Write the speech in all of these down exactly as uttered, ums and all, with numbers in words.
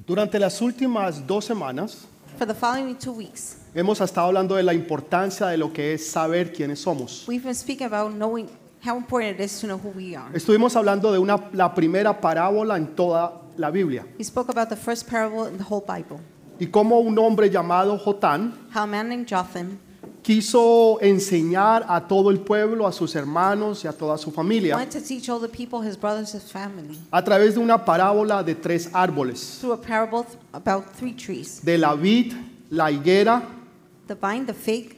Durante las últimas dos semanas For the following two weeks, hemos estado hablando de la importancia de lo que es saber quiénes somos. we've been speaking about knowing how important it is to know who we are. Estuvimos hablando de una, la primera parábola en toda la Biblia We spoke about the first parable in the whole Bible, y cómo un hombre llamado Jotán how a man named Jotham quiso enseñar a todo el pueblo, a sus hermanos y a toda su familia wanted to teach all the people, his brothers, his family, a través de una parábola de tres árboles, through a parable th- about three trees, de la vid, la higuera the vine, the fig,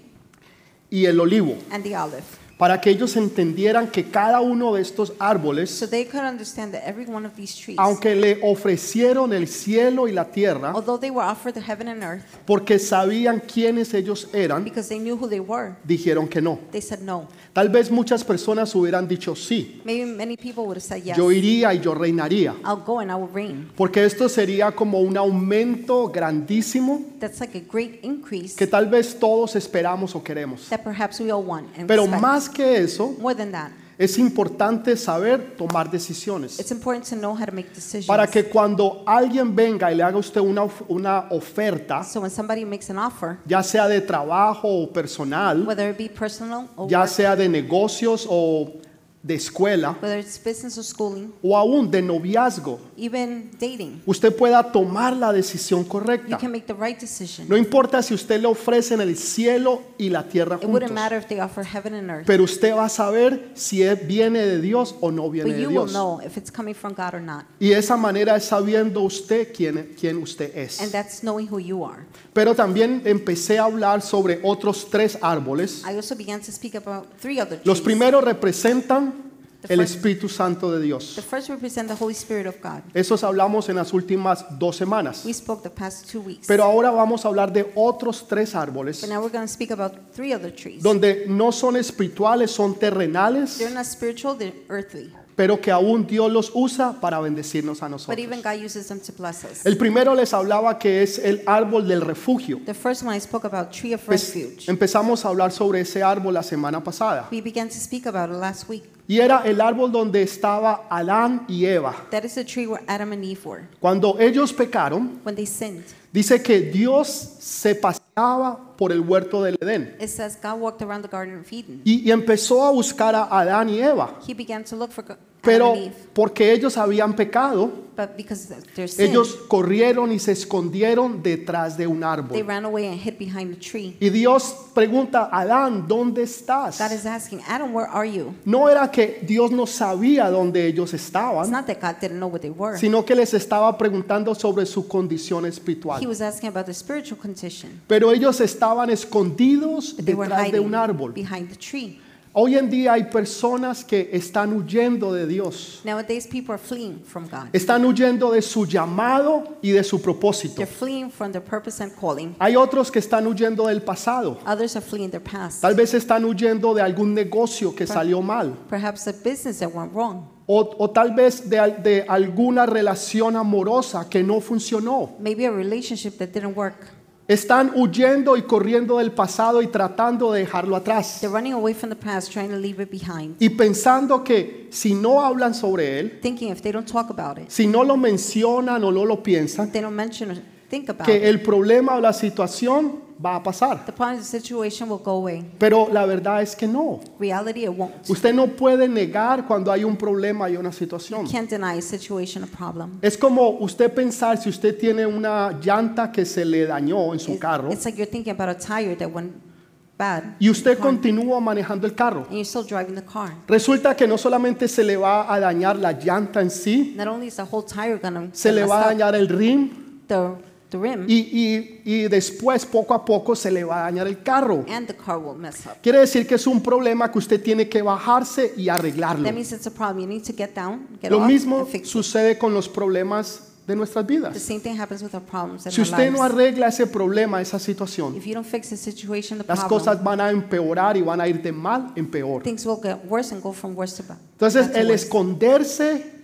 y el olivo, and the olive, para que ellos entendieran que cada uno de estos árboles, so they could understand that every one of these trees, aunque le ofrecieron el cielo y la tierra, although they were offered the heaven and earth, porque sabían quiénes ellos eran, because they knew who they were, dijeron que no. they said no. Tal vez muchas personas hubieran dicho sí, Maybe many people would have said yes. yo iría y yo reinaría, I'll go and I will reign. porque esto sería como un aumento grandísimo That's like a great increase que tal vez todos esperamos o queremos. that perhaps we all want and Pero respect. más que eso, More than that, es importante saber tomar decisiones. it's important to know how to make decisions. Para que cuando alguien venga y le haga a usted una, of- una oferta, So when somebody makes an offer, ya sea de trabajo o personal, whether it be personal or ya work, sea de negocios o de escuela, whether it's business or schooling, o aún de noviazgo, even dating, usted pueda tomar la decisión you correcta. can make the right decision. No importa si usted le ofrecen el cielo y la tierra It wouldn't juntos, matter if they offer heaven and earth, pero usted va a saber si es- viene de Dios o no viene but de you will Dios. know if it's coming from God or not. Y esa manera es sabiendo usted quién, quién usted And es. that's knowing who you are. Pero también empecé a hablar sobre otros tres árboles. I also began to speak about three other trees. Los primeros representan The el first- Espíritu Santo de Dios. The first represent the Holy Spirit of God. Esos hablamos en las últimas dos semanas. We spoke the past two weeks. Pero ahora vamos a hablar de otros tres árboles But now we're going to speak about three other trees. donde no son espirituales, son terrenales, They're not spiritual, they're earthly. pero que aún Dios los usa para bendecirnos a But nosotros. even God uses them to bless us. El primero les hablaba que es el árbol del refugio. The first one I spoke about, tree of Pues, refuge. empezamos a hablar sobre ese árbol la semana pasada. We began to speak about it last week. Y era el árbol donde estaba Adán y Eva. That is the tree where Adam and Eve were. Cuando ellos pecaron, When they sinned, dice que Dios se paseaba por el huerto del Edén it says God walked around the Garden of Eden. y, y empezó a buscar a Adán y Eva. He began to look for Go- Pero Adam and Eve. porque ellos habían pecado, But because of their sin, ellos corrieron y se escondieron detrás de un they árbol. ran away and hid behind the tree. Y Dios pregunta, Adán, ¿dónde estás? God is asking, Adam, where are you? No era que Dios no sabía dónde ellos It's estaban, not that God didn't know what they were. sino que les estaba preguntando sobre su condición He espiritual. was asking about the spiritual condition. Pero ellos estaban escondidos But they were detrás de un hiding árbol. behind the tree. Hoy en día hay personas que están huyendo de Dios. Nowadays, people are fleeing from God. Están huyendo de su llamado y de su propósito. They're fleeing from their purpose and calling. Hay otros que están huyendo del pasado. Others are fleeing their past. Tal vez están huyendo de algún negocio que salió mal. Perhaps a business that went wrong. O, o tal vez de, al- de alguna relación amorosa que no funcionó. Maybe a relationship that didn't work. Están huyendo y corriendo del pasado y tratando de dejarlo atrás. They're running away from the past, trying to leave it behind. Y pensando que si no hablan sobre él, Thinking if they don't talk about it, si no lo mencionan o no lo piensan, if they don't mention or think about que it, el problema o la situación va a pasar. the problem, the situation will go away. Pero la verdad es que no. Reality, it won't. Usted no puede negar cuando hay un problema y una situación. You can't deny a situation, a problem. Es como usted pensar si usted tiene una llanta que se le dañó en su It- carro It's like you're thinking about a tire that went bad, y usted car, continúa manejando el carro. and you're still driving the car. Resulta que no solamente se le va a dañar la llanta en sí, Not only is the whole tire gonna se get le va a messed up, dañar el rim the the rim y, y- y después poco a poco se le va a dañar el carro. and the car will mess up. Quiere decir que es un problema que usted tiene que bajarse y arreglarlo. That means it's a problem. You need to get down, get Lo off, mismo and fix it. sucede con los problemas de nuestras The vidas. same thing happens with our problems in Si our usted no lives. arregla ese problema, esa situación, If you don't fix the situation, the las problem, cosas van a empeorar y van a ir de mal en peor. things will get worse and go from worse to bad. Entonces, bad to el worse. esconderse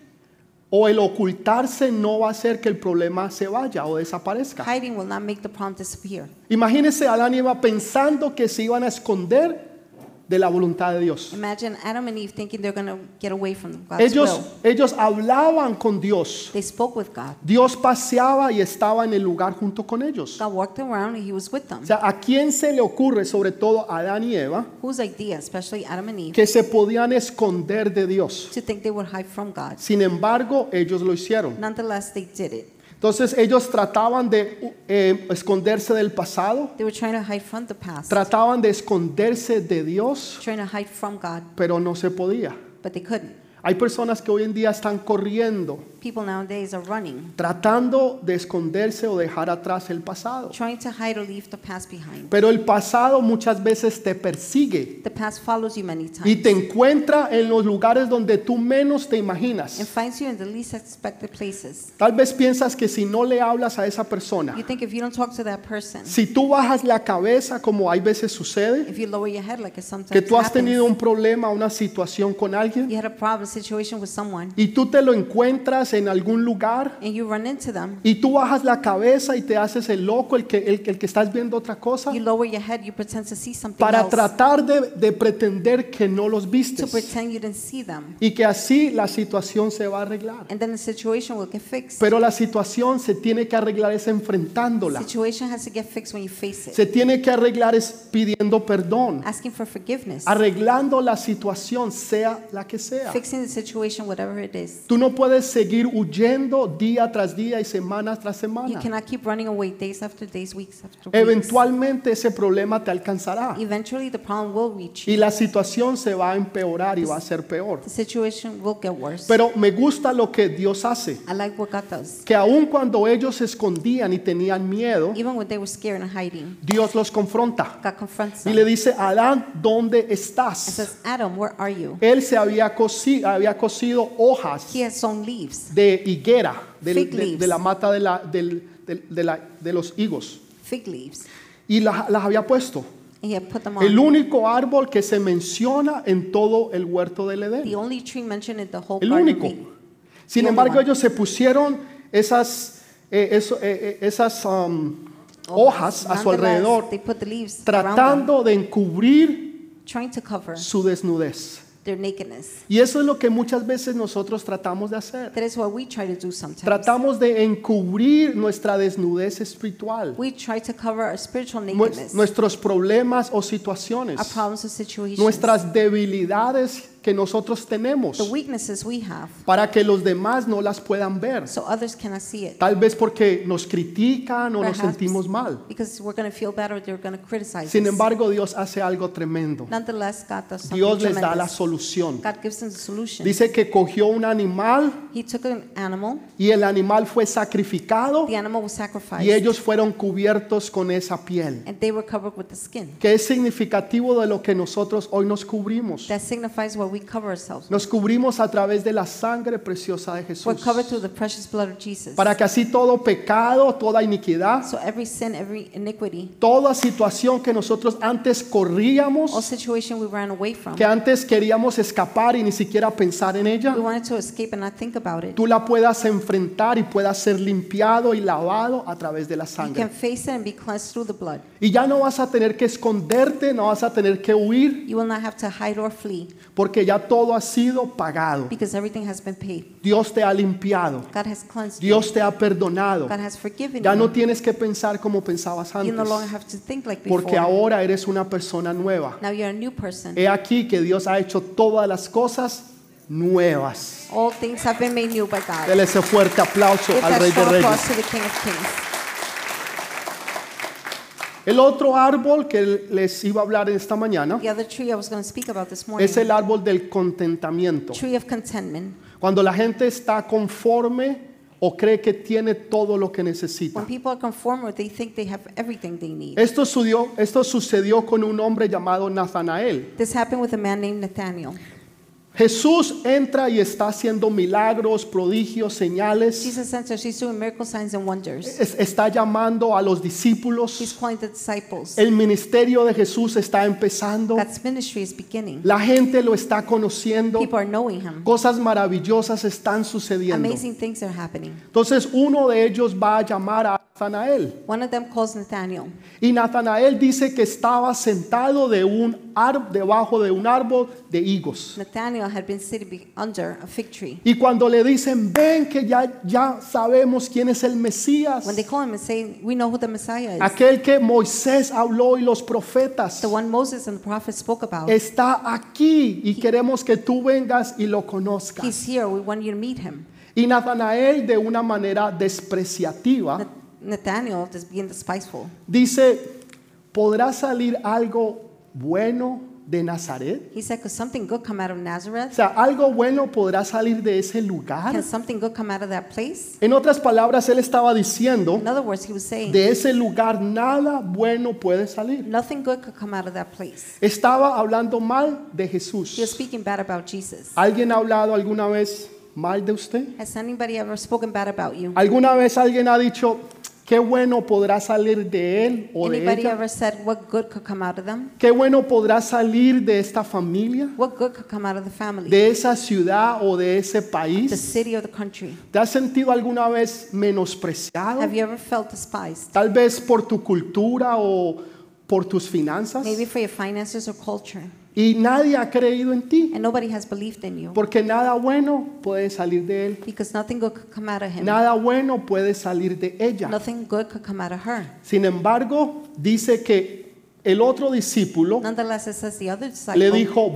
o el ocultarse no va a hacer que el problema se vaya o desaparezca. Hiding will not make the problem disappear. Imagínese a Adán y Eva pensando que se iban a esconder de la voluntad de Dios. Imagine Adam and Eve thinking they're going to get away from God's Ellos, will. ellos hablaban con Dios. They spoke with God. Dios paseaba y estaba en el lugar junto con ellos. God walked around and he was with them. O sea, ¿a quién se le ocurre, sobre todo a Adán y Eva, Whose idea, especially Adam and Eve, que se podían esconder de Dios? to think they would hide from God? Sin embargo, ellos lo hicieron. Nonetheless, they did it. Entonces ellos trataban de eh, esconderse del pasado, They were trying to hide from the past, trataban de esconderse de Dios, trying to hide from God, pero no se podía. but they couldn't. Hay personas que hoy en día están corriendo, People nowadays are running, tratando de esconderse o dejar atrás el pasado. trying to hide or leave the past behind. Pero el pasado muchas veces te persigue The past follows you many y times te encuentra en los lugares donde tú menos te and imaginas. finds you in the least expected places. Tal vez piensas que si no le hablas a esa persona, You think if you don't talk to that person, si tú bajas la cabeza como hay veces sucede, if you lower your head like it sometimes que tú has tenido happens, un problema, una situación con alguien you had a problem, situation with someone, y tú te lo encuentras en algún lugar and you run into them, y tú bajas la cabeza y te haces el loco, el que, el, el que estás viendo otra cosa, you lower your head, you pretend to see something para else, tratar de, de pretender que no los to vistes pretend you didn't see them, y que así la situación se va a arreglar. and then the situation will get fixed. Pero la situación se tiene que arreglar es enfrentándola. Situation has to get fixed when you face it. Se tiene que arreglar es pidiendo perdón, Asking for forgiveness, arreglando la situación, sea la que sea. fixing the situation, whatever it is. Tú no puedes seguir huyendo día tras día y semana tras You semana. cannot keep running away days after days, weeks after weeks. Eventualmente ese problema te alcanzará Eventually the problem will reach you. y la situación se va a empeorar y va a ser peor. The situation will get worse. Pero me gusta lo que Dios hace, I like what God does. que aun cuando ellos se escondían y tenían miedo, Even when they were scared and hiding, Dios los confronta God confronts y them le dice, Adán, ¿dónde and estás? says, Adam, where are you? Él se había cosido, había cosido hojas He has sown leaves, de higuera, del- Fig de, leaves. de la mata de, la, del- del- de, la- de los higos, fig leaves, y las, las había puesto. and he had put them El on. único árbol que se menciona en todo el huerto del Edén. The only tree mentioned in the whole El Garden of único. Eden. Sin The only embargo, one. ellos se pusieron esas, eh, eso- eh, eh, esas um, hojas a su Nonetheless, alrededor, they put the leaves around them, tratando de encubrir trying to cover su desnudez. their nakedness. Y eso es lo que muchas veces nosotros tratamos de hacer. That is what we try to do sometimes. Tratamos de encubrir nuestra desnudez espiritual, We try to cover our spiritual nue- nakedness, nuestros problemas o our situaciones, problems or situations, nuestras debilidades que nosotros tenemos, the weaknesses we have, para que los demás no las puedan ver. so others cannot see it. Tal vez porque nos critican o nos Perhaps sentimos mal. because we're going to feel bad or they're going to criticize Sin us. embargo, Dios hace algo tremendo. Nonetheless, God does something Dios les da la tremendous. solución. God gives them the solution. Dice que cogió un animal He took an animal, y el animal fue sacrificado the animal was sacrificed, y ellos fueron cubiertos con esa piel, and they were covered with the skin. que es significativo de lo que nosotros hoy nos cubrimos. That signifies what we cover ourselves with. Nos cubrimos a través de la sangre preciosa de We're Jesús, covered through the precious blood of Jesus. para que así todo pecado, toda iniquidad, So every sin, every iniquity, toda situación que nosotros antes all corríamos, situation we ran away from, que antes queríamos escapar y ni siquiera pensar en ella, we wanted to escape and not think about it. tú la puedas enfrentar y puedas ser limpiado y lavado a través de la You sangre. can face it and be cleansed through the blood. Y ya no vas a tener que esconderte, no vas a tener que huir, You will not have to hide or flee porque ya todo ha sido pagado. because everything has been paid. Dios te ha limpiado, God has cleansed Dios te ha perdonado. you. God has forgiven Ya no you. tienes que pensar como pensabas You no longer antes, have to think like before. porque ahora eres una persona nueva. Now you're a new person. He aquí que Dios ha hecho todas las cosas nuevas. All things have been made new by God. Dele ese fuerte aplauso Give al that Rey de strong Reyes. applause to the King of Kings. El otro árbol que les iba a hablar esta mañana The other tree I was going to speak about this morning, es el árbol del contentamiento. tree of contentment. Cuando la gente está conforme o cree que tiene todo lo que necesita. When people are conformed, or they think they have everything they need. Esto sucedió, esto sucedió con un hombre llamado Natanael. This happened with a man named Nathaniel. Jesús entra y está haciendo milagros, prodigios, señales. Jesus enters, he's doing miracle signs and wonders. Es- Está llamando a los He's discípulos. calling the disciples. El ministerio de Jesús está empezando. God's ministry is beginning. La gente lo está conociendo. People are knowing him. Cosas maravillosas están sucediendo. Amazing things are happening. Entonces uno de ellos va a llamar a Natanael. One of them calls Nathanael. Y Natanael dice que estaba sentado de un ar- debajo de un árbol de higos. Nathanael had been sitting be- under a fig tree. Y cuando le dicen, ven que ya, ya sabemos quién es el Mesías, When they call him and say, we know who the Messiah is, aquel que Moisés habló y los profetas, the one Moses and the prophets spoke about, está aquí y queremos que tú vengas y lo conozcas. he's here. We want you to meet him. Y Natanael, de una manera despreciativa, Nath- Nathanael just being despiteful. dice, ¿podrá salir algo bueno de Nazaret? He said, could something good come out of O Nazareth? sea, ¿algo bueno podrá salir de ese lugar? Can something good come out of that place? En otras palabras, él estaba diciendo, In other words, he was saying, de ese lugar nada bueno puede salir. nothing good could come out of that place. Estaba hablando mal de He was Jesús. speaking bad about Jesus. ¿Alguien ha hablado alguna vez mal de usted? Has anybody ever spoken bad about you? ¿Alguna vez alguien ha dicho, qué bueno podrá salir de él o de Anybody ella? ever said what good could come out of them? ¿Qué bueno podrá salir de esta familia, What good could come out of the family, de esa ciudad o de ese the país? city, or the country? ¿Te has sentido alguna vez menospreciado? Have you ever felt despised? Tal vez por tu cultura o por tus finanzas. Maybe for your finances or culture. Y nadie ha creído en ti, And nobody has believed in you porque nada bueno puede salir de él. because nothing good could come out of him. Nada bueno puede salir de ella. Nothing good could come out of her. Sin embargo, dice que el otro discípulo Nonetheless, it says the other le disciple dijo,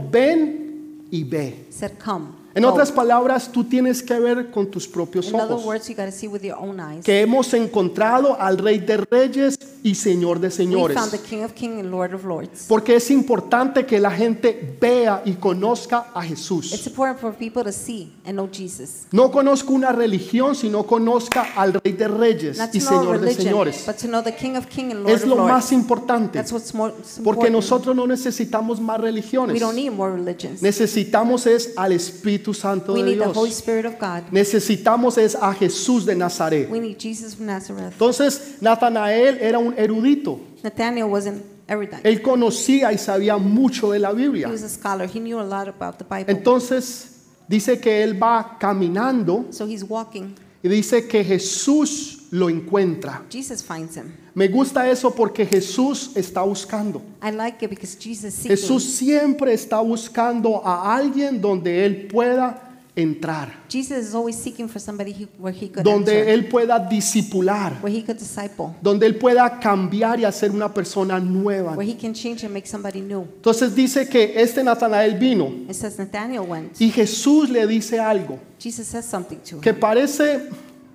ven y ve. said, come. En go. otras palabras, tú tienes que ver con tus propios In other ojos words, you got to see with your own eyes. que hemos encontrado al Rey de Reyes y Señor de We Señores. found the King of Kings and Lord of Lords. Porque es importante que la gente vea y conozca a It's Jesús. important for people to see and know Jesus. No conozca una religión, sino conozca al Rey de Reyes Not to y know a Señor de religion, Señores. but to know the King of Kings and Lord Es of lo Lords. más importante. That's what's more it's Porque important. nosotros no necesitamos más We religiones. don't need more religions. Necesitamos es al Espíritu Santo We de need the Holy Dios. Spirit of God. Necesitamos es a Jesús de Nazaret. We need Jesus from Nazareth. Entonces, Natanael era un erudito. Nathanael wasn't erudite. Él conocía y sabía mucho de la He Biblia. was a scholar. He knew a lot about the Bible. Entonces, dice que él va caminando So he's walking. y dice que Jesús lo encuentra. Jesus finds him. Me gusta eso porque Jesús está buscando. I like it because Jesus seeking. Jesús siempre está buscando a alguien donde él pueda entrar, Jesus is always seeking for somebody he, where he could donde enter, él pueda discipular, where he could disciple, donde él pueda cambiar y hacer una persona nueva. where he can change and make somebody new. Entonces dice que este Natanael vino It says Nathanael went. y Jesús le dice algo Jesus says something to que him parece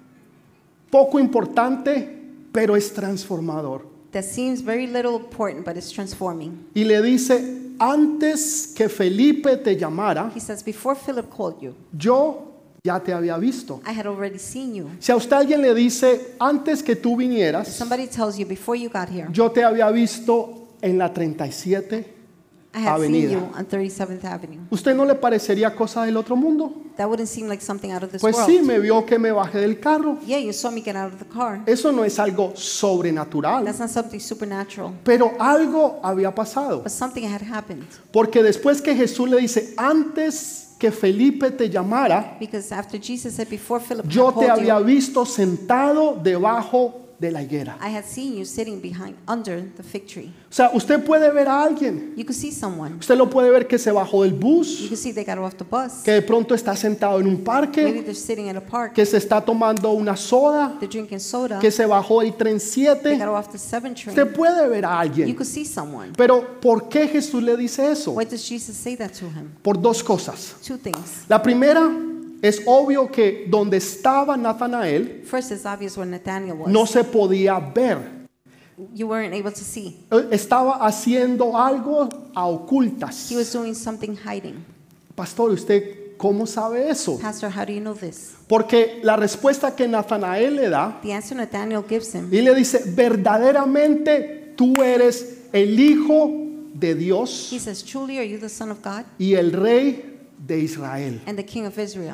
poco importante, pero es transformador. that seems very little important, but it's transforming. Y le dice, antes que Felipe te llamara, He says, before Philip called you, yo ya te había visto. I had already seen you. Si a usted alguien le dice, antes que tú If vinieras, somebody tells you, before you got here, yo te había visto en la treinta y siete I had Avenida. seen you on thirty-seventh Avenue. ¿Usted no le parecería cosa del otro mundo? That wouldn't seem like something out of this Pues world. sí, me vio que me bajé del carro. Yeah, you saw me get out of the car. Eso no es algo sobrenatural, That's not something supernatural, pero algo había pasado. but something had happened. Porque después que Jesús le dice, antes que Felipe te llamara, Because after Jesus said, before Philip yo te called había you, visto sentado debajo de la higuera. I had seen you sitting behind under the fig tree. O sea, usted puede ver a alguien. You could see someone. Usted lo puede ver que se bajó del You bus, could see they got off the bus. que de pronto está sentado en un Maybe parque, they're sitting in a park. que se está tomando una soda, They're drinking soda. que se bajó del tren They siete. got off the seven train. Usted puede ver a You alguien. could see someone. Pero ¿por qué Jesús le dice eso? Why does Jesus say that to him? Por dos cosas. Two things. La primera, es obvio que donde estaba Natanael First, it's obvious where Nathanael was. no se podía ver. You weren't able to see. Estaba haciendo algo a ocultas. He was doing something hiding. Pastor, ¿usted cómo sabe eso? Pastor, how do you know this? Porque la respuesta que Natanael le da, The answer Nathanael gives him, y le dice, verdaderamente tú eres el Hijo de Dios he says, truly, are you the Son of God y el Rey de Israel. and the king of Israel.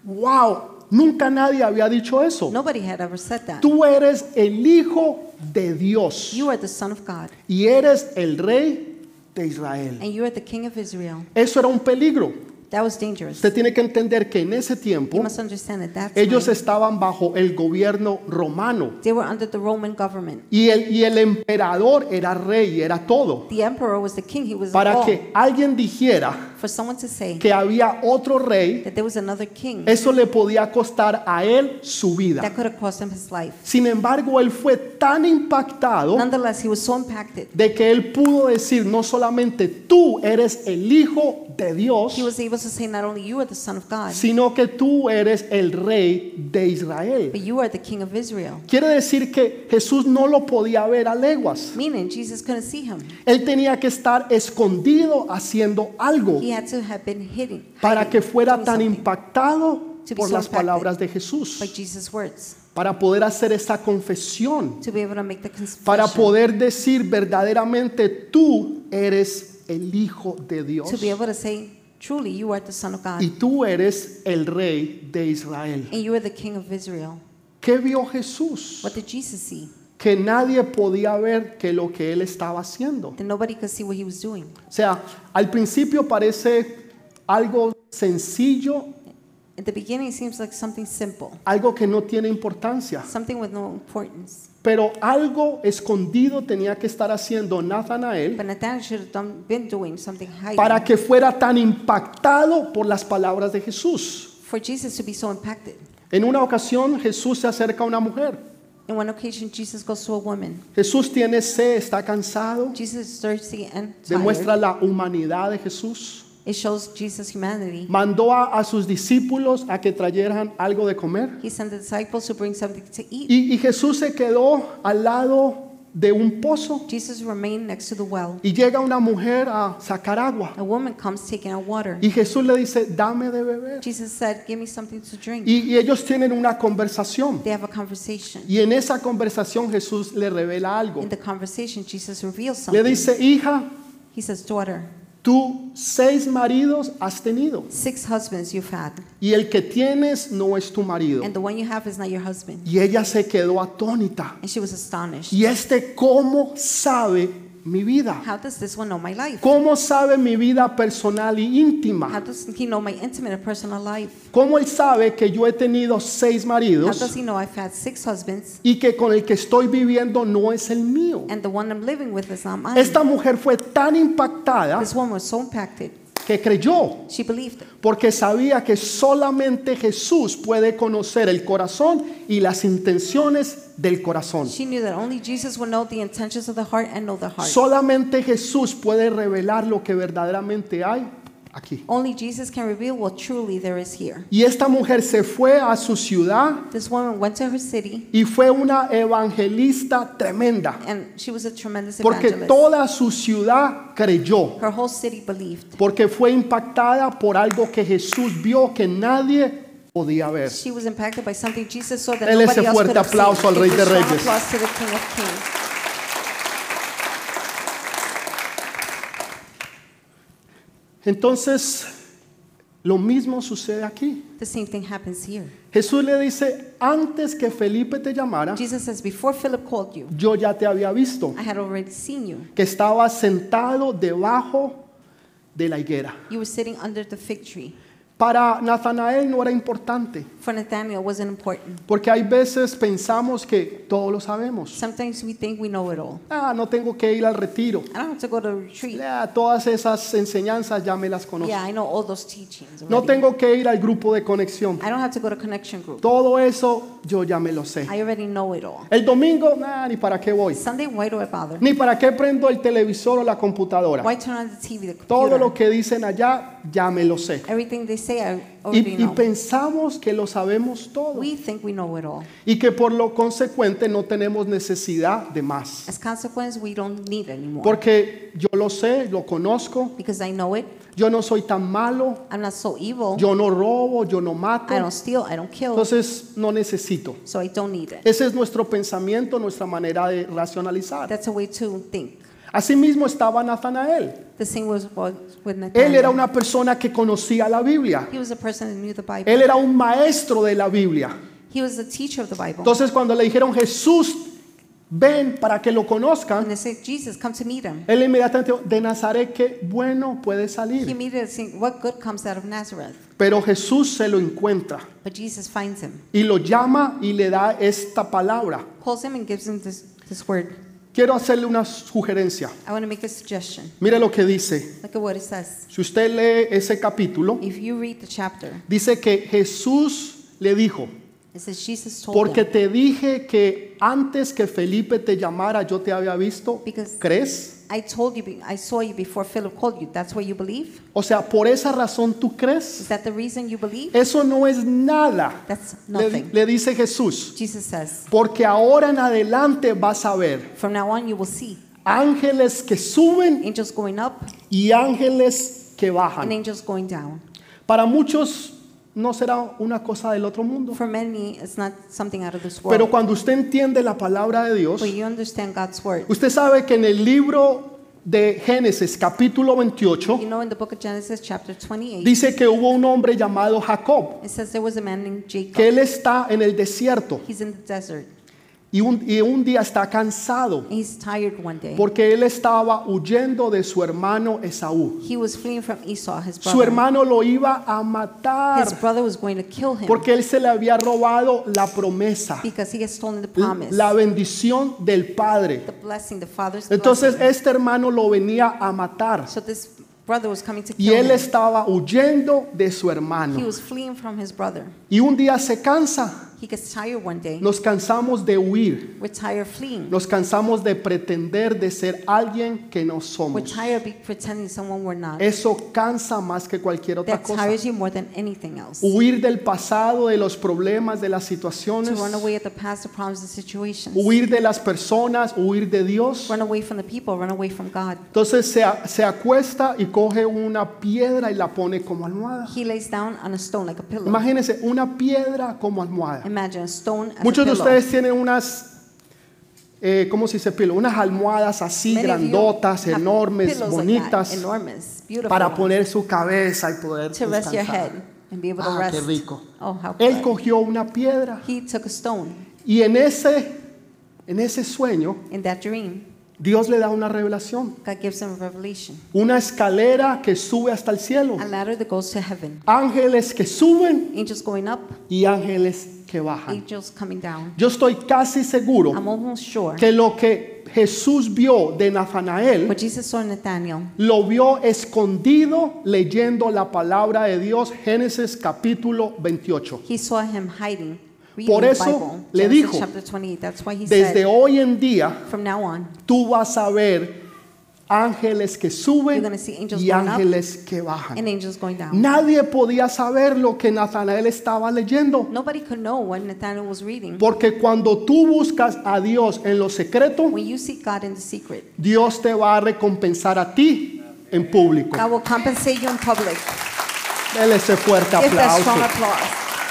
Wow, nunca nadie había dicho eso. Nobody had ever said that. Tú eres el Hijo de Dios You are the son of God, y eres el Rey de Israel. and you are the king of Israel. Eso era un peligro. That was dangerous. Usted tiene que entender que en ese You tiempo must understand that that ellos time, estaban bajo el gobierno romano they were under the Roman government. y el, y el emperador era rey, era todo. The emperor was the king. He was Para all. que alguien dijera For someone to say que había otro rey, that there was another king, eso le podía costar a él su vida. that could have cost him his life. Sin embargo, él fue tan impactado Nonetheless, he was so impacted. de que él pudo decir, no solamente tú eres el Hijo de Dios, He was able to say, not only you are the son of God, sino que tú eres el Rey de Israel. but you are the king of Israel. Quiere decir que Jesús no lo podía ver a leguas. Meaning, Jesus couldn't see him. Él tenía que estar escondido haciendo algo He had to have been hidden, para hiding, que fuera doing tan something impactado To be por so las impacted palabras de Jesús, by Jesus' words, para poder hacer esta confesión, to be able to make the para confession, poder decir verdaderamente tú eres el Hijo de Dios to be able to say, truly, you are the son of God, y tú eres el Rey de Israel. and you are the king of Israel. ¿Qué vio Jesús? What did Jesus see? Que nadie podía ver que lo que él estaba haciendo. That nobody could see what he was doing. O sea, al principio parece algo sencillo, At the beginning, it seems like something simple, algo que no tiene importancia, something with no importance. pero algo escondido tenía que estar haciendo Natanael But Nathanael should have done, been doing something hiding para que fuera tan impactado por las palabras de Jesús. for Jesus to be so impacted. En una ocasión Jesús se acerca a una mujer. In one occasion, Jesus goes to a woman. Jesús tiene sed, está cansado. Jesus is thirsty and Demuestra tired. la humanidad de Jesús. It shows Jesus' humanity. Mandó a, a sus discípulos a que trajeran algo de comer. He sent the disciples to bring something to eat. Y, y Jesús se quedó al lado de un pozo Jesus remained next to the well. y llega una mujer a sacar agua. A woman comes taking out water. Y Jesús le dice, dame de beber. Jesus said, give me something to drink. Y, y ellos tienen una conversación. They have a conversation. Y en esa conversación Jesús le revela algo. In the conversation, Jesus reveals Le something. dice, hija, He says, daughter, tú seis maridos has tenido six husbands you've had, y el que tienes no es tu marido. and the one you have is not your husband. Y ella se quedó atónita. And she was astonished. Y este, ¿cómo sabe mi vida? How does this one know my life? ¿Cómo sabe mi vida personal y How íntima? does he know my intimate and personal life? ¿Cómo él sabe que yo he tenido seis How maridos does he know I've had six husbands y que con el que estoy viviendo no es el mío? and the one I'm living with is not mine? Esta mujer fue tan impactada This woman was so impacted. que creyó, She believed it porque sabía que solamente Jesús puede conocer el corazón y las intenciones del corazón. She knew that only Jesus would know the intentions of the heart and know the heart. Solamente Jesús puede revelar lo que verdaderamente hay aquí. Only Jesus can reveal what truly there is here. Y esta mujer se fue a su ciudad This woman went to her city, y fue una evangelista tremenda, and she was a tremendous porque evangelist. toda su ciudad creyó, Her whole city believed. porque fue impactada por algo que Jesús vio que nadie podía ver. She was impacted by something Jesus saw that Dele ese nobody else fuerte could have aplauso seen. al Rey Give de a strong Reyes. applause to the King of Kings. Entonces, lo mismo sucede aquí. The same thing happens here. Jesús le dice, antes que Felipe te llamara, Jesus says, before Philip called you, yo ya te había visto, I had already seen you. que estabas sentado debajo de la higuera. You were sitting under the fig tree. Para Natanael no era importante, For Nathanael, it wasn't important. porque hay veces pensamos que todo lo sabemos. Sometimes we think we know it all. Ah, no tengo que ir al retiro. I don't have to go to a retreat. Ya, todas esas enseñanzas ya me las conozco. Yeah, I know all those teachings No already. tengo que ir al grupo de conexión. I don't have to go to connection group. Todo eso yo ya me lo sé. I already know it all. El domingo, nah, ni para qué voy. Sunday, why do I bother? Ni para qué prendo el televisor o la computadora. Why turn on the T V, the Todo computer? lo que dicen allá ya me lo sé. Everything they say, I Y, already y know. pensamos que lo sabemos todo. We think we know it all. Y que por lo consecuente no tenemos necesidad de más. As consequence, we don't need anymore. Porque yo lo sé, lo conozco. Because I know it. Yo no soy tan malo. I'm not so evil. Yo no robo, yo no mato. I don't steal. I don't kill. Entonces no necesito. So I don't need it. Ese es nuestro pensamiento, nuestra manera de racionalizar. That's a way to think. Asimismo estaba Natanael. The same was was with Él Nathaniel. era una persona que conocía la Biblia. He was a person that knew the Bible. Él era un maestro de la Biblia. He was the teacher of the Bible. Entonces cuando le dijeron, Jesús, ven para que lo And conozcan, they said, Jesus, come to meet him. él inmediatamente dijo, de Nazaret, ¿qué bueno puede He salir? immediately said, what good comes out of Nazareth? Pero Jesús se lo encuentra But Jesus finds him, y lo llama y le da esta palabra. calls him and gives him this, this word. Quiero hacerle una sugerencia. I want to make a suggestion. Mire lo que dice. Look at what it says. Si usted lee ese capítulo, If you read the chapter, dice que Jesús le dijo, it says Jesus told porque him, te dije que antes que Felipe te llamara yo te había visto, Because- ¿crees? I told you, be- I saw you before Philip called you. That's why you believe? O sea, por esa razón tú Is crees. that the reason you believe? Eso no es nada, That's le, nothing. le dice Jesús, Jesus says, porque ahora en adelante vas a ver from now on you will see ángeles que suben angels going up y ángeles que and bajan. angels going down. Para muchos no será una cosa del otro mundo, For many, it's not something out of this pero world. cuando usted entiende la palabra de Dios, But you understand God's word. usted sabe que en el libro de Génesis capítulo veintiocho You know, in the book of Genesis, chapter twenty-eight, dice que hubo un hombre llamado Jacob, it says there was a man named que Jacob. él está en el desierto He's in the desert. y un, y un día está cansado And he's tired one day. porque él estaba huyendo de su hermano Esaú. He was fleeing from Esau, his Su brother. hermano lo iba a His matar brother was going to kill him porque él se le había robado la promesa, because he had stolen the l- promise, la bendición del Padre. the blessing, the father's Entonces blessing. este hermano lo venía a matar So this brother was coming to y kill él him. estaba huyendo de su He hermano. was fleeing from his brother. Y un día se cansa. He gets tired one day. Nos cansamos de huir. We're tired of fleeing. Nos cansamos de pretender de ser alguien que no We're somos. tired of be- pretending someone we're not. Eso cansa más que cualquier otra That cosa. tires you more than anything else. Huir del pasado, de los problemas, de las To situaciones. run away at the past, the problems, the situations. Huir de las personas, huir de Dios. Run away from the people, run away from God. Entonces se, a- se acuesta y coge una piedra y la pone como almohada. He lays down on a stone like a pillow. Imagínense, una piedra como almohada. Imagine a stone as Muchos a de pillow. ustedes tienen unas, eh, ¿cómo se dice pillow? Unas almohadas así Many of you grandotas, have enormes, pillows like bonitas, that, enormous, beautiful para ones, poner su cabeza y poder to rest your descansar. head and be able to Ah, rest. qué rico. Oh, how Él good. cogió una piedra He took a stone. y en ese, en ese sueño In that dream, Dios le da una revelación, God gives him a revelation. una escalera que sube hasta el cielo, A ladder that goes to heaven. ángeles que suben Angels going up, y ángeles que bajan. angels coming down. Yo estoy casi seguro I'm almost sure que lo que Jesús vio de Natanael what Jesus saw in Nathaniel, lo vio escondido leyendo la palabra de Dios, Génesis capítulo veintiocho. he saw him hiding, reading Por the eso Bible. le Genesis dijo, chapter twenty-eight. That's why he Desde said, hoy en día from now on, tú vas a ver ángeles que you're suben going to see angels y going up ángeles que bajan. and angels going down. Nadie podía saber lo que Natanael estaba leyendo, Nobody could know what Nathaniel was reading. porque cuando tú buscas a Dios en lo secreto, When you seek God in the secret, Dios te va a recompensar a ti en público. God will compensate you in public. Dele ese fuerte Give that strong aplauso. applause.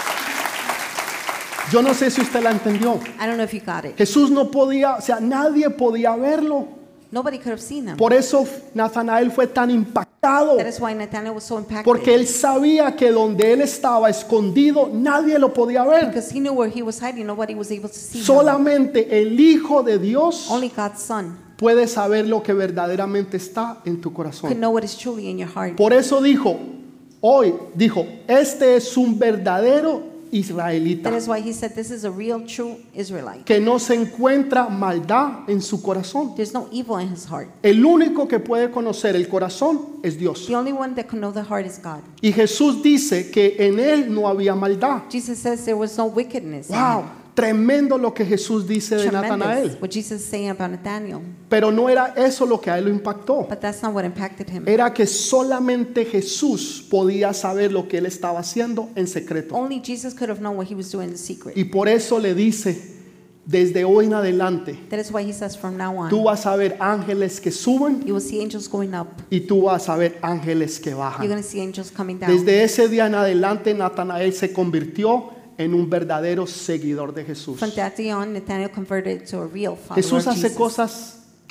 Yo no sé si usted la entendió. I don't know if you got it. Jesús no podía, o sea, nadie podía verlo. Nobody could have seen him. Por eso Natanael fue tan impactado, That is why Nathaniel was so impacted. porque él sabía que donde él estaba escondido nadie lo podía ver. Because he knew where he was hiding, nobody was able to see him. Solamente el Hijo de Dios Only God's Son puede saber lo que verdaderamente está en tu could corazón. know what is truly in your heart. Por eso dijo, hoy dijo, este es un verdadero israelita, That is why he said this is a real, true Israelite. que no se encuentra maldad en su corazón. There's no evil in his heart. El único que puede conocer el corazón es Dios. The only one that can know the heart is God. Y Jesús dice que en él no había maldad. Jesus says there was no wickedness in Wow, him. tremendo lo que Jesús dice de Tremendous Natanael. what Jesus is saying about Nathaniel. Pero no era eso lo que a él lo impactó. But that's not what impacted him. Era que solamente Jesús podía saber lo que él estaba haciendo en secreto. Only Jesus could have known what he was doing in secret. Y por eso le dice, desde hoy en adelante, That is why he says from now tú on, vas a ver ángeles que suben you will see angels going up. y tú vas a ver ángeles que You're bajan. going to see angels coming down. Desde ese día en adelante, Natanael se convirtió en un verdadero seguidor de Jesús. From that day on, Nathaniel converted to a real follower Jesús of hace Jesus. cosas que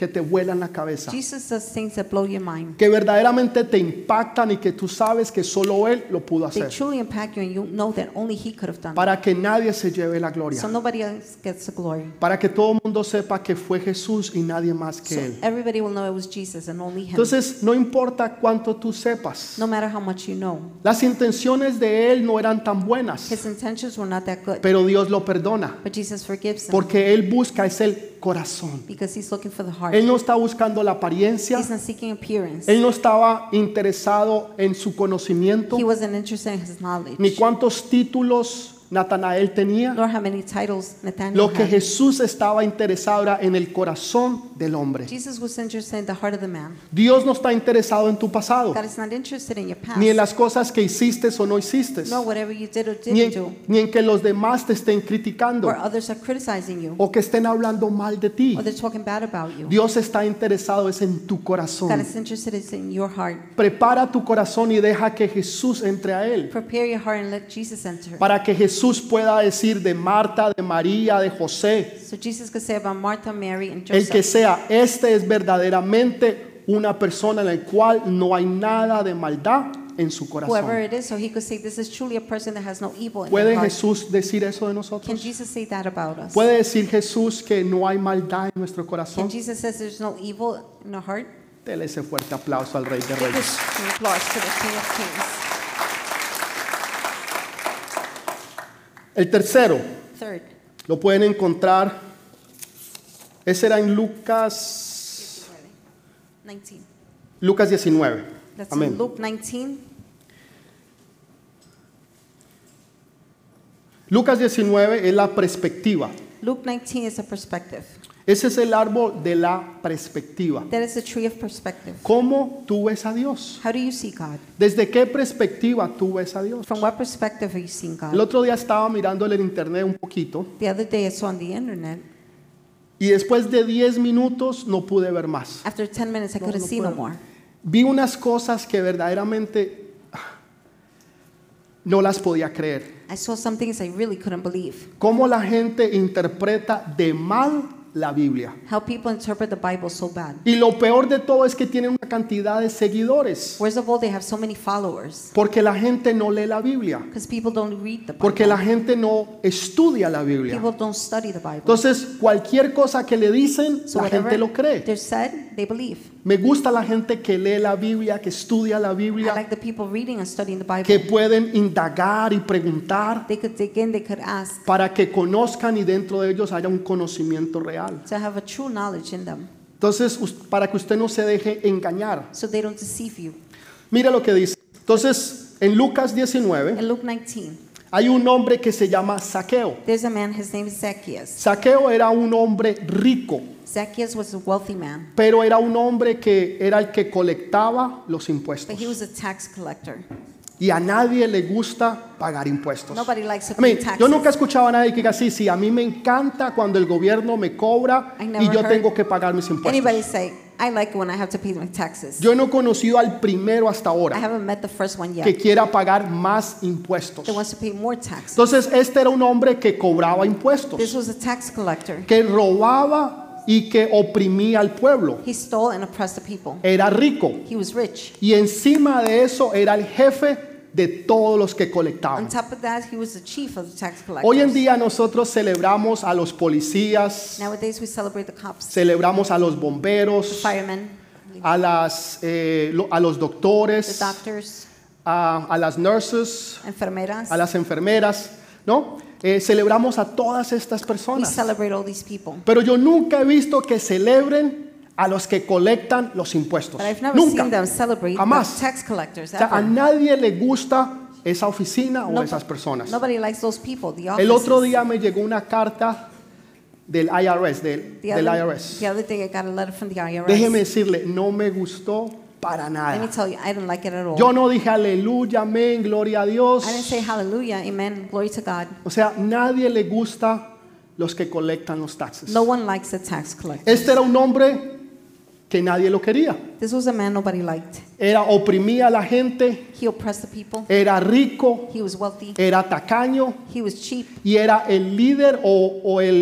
que te vuelan la cabeza, Jesus does things that blow your mind. que verdaderamente te impactan y que tú sabes que solo Él lo pudo They hacer, truly impact you and you know that only He could have done it. para que nadie se lleve la gloria, So nobody else gets the glory. para que todo el mundo sepa que fue Jesús y nadie más que So Él. everybody will know it was Jesus and only Him. Entonces, no importa cuánto tú sepas, No matter how much you know. las intenciones de Él no eran tan buenas, His intentions were not that good. pero Dios lo perdona, But Jesus forgives them porque Él busca es el corazón. because He's looking for the heart. Él no está buscando la apariencia, He's not seeking appearance. Él no estaba interesado en su conocimiento, He wasn't interested in His knowledge. ni cuántos títulos Natanael tenía. Nor how many titles Nathaniel Lo que had. Jesús estaba interesado era en el corazón del hombre. Jesus was interested in the heart of the man. Dios no está interesado en tu pasado, God is not interested in your past. ni en las cosas que hiciste o no hiciste, Nor whatever you did or ni didn't en, do. ni en que los demás te estén criticando Or others are criticizing you. o que estén hablando mal de ti. Or they're talking bad about you. Dios está interesado es en tu God corazón. is interested is in your heart. Prepara tu corazón y deja que Jesús entre a él, Prepare your heart and let Jesus enter. para que Jesús pueda decir de Marta, de María, de José, So Jesus could say about Martha, Mary, and el que Joseph. sea, este es verdaderamente una persona en la cual no hay nada de maldad en su Whoever corazón. it is, so he could say this is truly a person that has no evil in ¿Puede their heart. Jesús decir eso de Can nosotros? Jesus say that about us? ¿Puede decir Jesús que no hay maldad en nuestro Can corazón? Jesus says there's no evil in our heart? Dele ese fuerte aplauso al Rey de Give Reyes. this applause to the King of Kings. El tercero, Third, lo pueden encontrar, ese era en Lucas, nineteen. Lucas diecinueve. That's Amén. in Luke nineteen. Lucas diecinueve es la perspectiva. Luke nineteen is a perspective. Ese es el árbol de la perspectiva. That is the tree of perspective. ¿Cómo tú ves a Dios? How do you see God? ¿Desde qué perspectiva tú ves a Dios? From what perspective are you seeing El God? otro día estaba mirando en el internet un poquito The other day I saw on the internet. y después de diez minutos no pude ver más. After ten minutes I No, couldn't no see no puedo. more. Vi unas cosas que verdaderamente ah, no las podía creer. I saw some things I really couldn't believe. Cómo la gente interpreta de mal la Biblia. How people interpret the Bible so bad. Y lo peor de todo es que tienen una cantidad de seguidores. Worst of all, they have so many followers Porque la gente no lee la Biblia. because people don't read the Porque la Bible. gente no estudia la Biblia. People don't study the Bible. Entonces, cualquier cosa que le dicen, So la gente whatever lo cree. they're said, they believe. Me gusta la gente que lee la Biblia, que estudia la I Biblia, like the people reading and studying the que Bible. pueden indagar y preguntar They could dig in, they could ask para que conozcan y dentro de ellos haya un conocimiento real. to have a true knowledge in them Entonces, us- para que usted no se deje engañar. so they don't deceive you. Mira lo que dice. Entonces, en Lucas diecinueve, In Luke nineteen, hay un hombre que se llama Zaqueo. there's a man, his name is Zacchaeus. Zaqueo era un hombre rico, Zacchaeus was a wealthy man, pero era un hombre que era el que colectaba los but impuestos. he was a tax collector. Y a nadie le gusta pagar impuestos. Nobody likes to Amén. pay taxes. Yo nunca he escuchado a nadie que diga así, sí, a mí me encanta cuando el gobierno me cobra I y never yo heard tengo que pagar mis impuestos. Anybody say, I like it when I have to pay my taxes. Yo no he conocido al primero hasta I ahora haven't met the first one que yet quiera pagar más impuestos. that wants to pay more taxes. Entonces, este era un hombre que cobraba impuestos, This was a tax collector. que robaba y que oprimía al pueblo. He stole and oppressed the people. Era rico He was rich. y encima de eso era el jefe de todos los que On colectaban. top of that, he was the chief of the tax collectors. Hoy en día nosotros celebramos a los policías, Nowadays, we celebrate the cops, celebramos a los the bomberos, firemen, a, las, eh, lo- a los the doctores, doctors, a, a las nurses, enfermeras. a las enfermeras, ¿no? Eh, celebramos a todas estas We personas. celebrate all these people. Pero yo nunca he visto que celebren a los que colectan los impuestos. But I've never Nunca. seen them celebrate Jamás. the tax collectors O sea, a ever. nadie le gusta esa oficina o No- esas personas. Nobody likes those people, the El otro offices. día me llegó una carta del I R S, del, The del other, I R S. the other day I got a letter from the I R S. Déjeme decirle, no me gustó para Let me nada. tell you, I didn't like it at all. Yo no dije aleluya, amén, gloria a Dios. I didn't say hallelujah, amen, glory to God. O sea, nadie le gusta los que colectan los taxes. No one likes the tax collector. Este era un hombre que nadie lo quería. This was a man nobody liked. Era oprimía a la gente, He oppressed the people. era rico, He was wealthy. era tacaño He was cheap. y era el líder o, o el jefe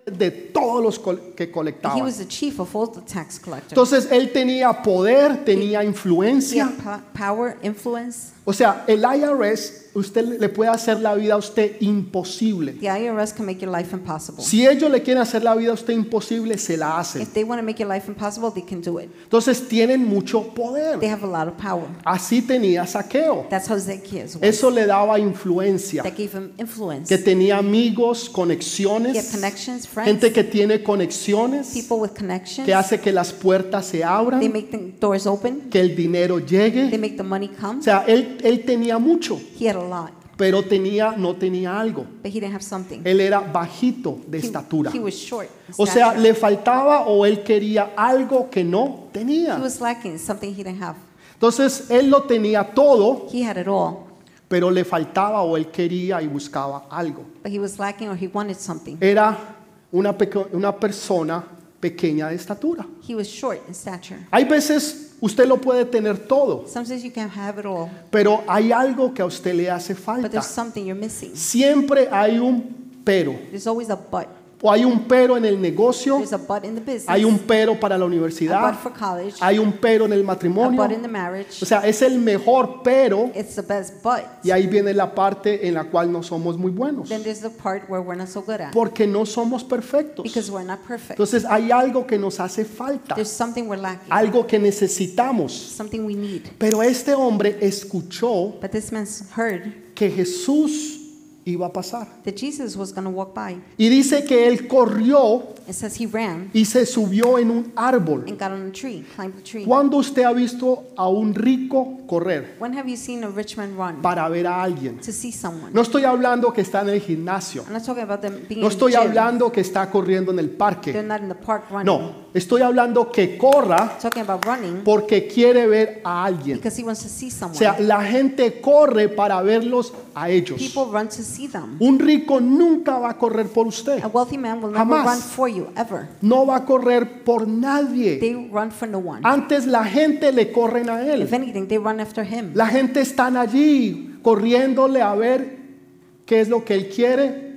de todos los col- que He colectaban. was the chief of all the tax collectors. Entonces él tenía poder, tenía He influencia. had po- power, influence. O sea, el I R S, usted le puede hacer la vida a usted imposible. The I R S can make your life impossible. Si ellos le quieren hacer la vida a usted imposible, se la hacen. If they want to make your life impossible, they can do it. Entonces tienen mucho They poder. have a lot of power. Así tenía Saqueo. That's how Zacchaeus was. Eso le daba influencia. That gave him influence. Que tenía amigos, He had conexiones, connections, friends, gente que tiene conexiones, people with connections. que hace que las puertas se They abran, make the doors open. que el dinero They llegue. make the money come. O sea, él, él tenía mucho, He had a lot, pero tenía, no tenía algo. but he didn't have something. Él era bajito de He, estatura. he was short in O sea, stature. le faltaba o él quería algo que no He tenía. was lacking something he didn't have. Entonces, él lo tenía todo, He had it all, pero le faltaba o él quería y buscaba algo. but he was lacking or he wanted something. Era una, peque- una persona pequeña de estatura. He was short in stature. Hay veces usted lo puede tener todo, Sometimes you can have it all, pero hay algo que a usted le hace but falta. there's something you're missing. Siempre hay un pero. There's always a but. O hay un pero en el negocio, There's a but in the business. hay un pero para la a universidad, but for college. hay un pero en el A matrimonio. but in the marriage. O sea, es el mejor pero It's the best but. y ahí viene la parte en la cual no somos muy buenos. Then there's the part where we're not so good at, Porque no somos perfectos. because we're not perfect. Entonces hay algo que nos hace falta, There's something we're lacking, algo que necesitamos. something we need. Pero este hombre escuchó But this man heard que Jesús iba a pasar. that Jesus was going to walk by. Y dice que él corrió It says he ran y se subió en un árbol. and got on a tree, climbed the tree. ¿Cuándo usted ha visto a un rico correr When have you seen a rich man run para ver a alguien? to see someone? No estoy hablando que está en el gimnasio. I'm not talking about them being No in the estoy gym. hablando que está corriendo en el They're parque. not in the park running. No, estoy hablando que corra Talking about running porque quiere ver a alguien. because he wants to see O someone. sea, la gente corre para verlos a ellos. People run to see them. Un rico nunca va a correr por usted. A wealthy man will never Jamás. run for you, ever. No va a correr por nadie. They run for no one. Antes la gente le corren a él. If anything, they run after him. La gente está allí corriéndole a ver qué es lo que él quiere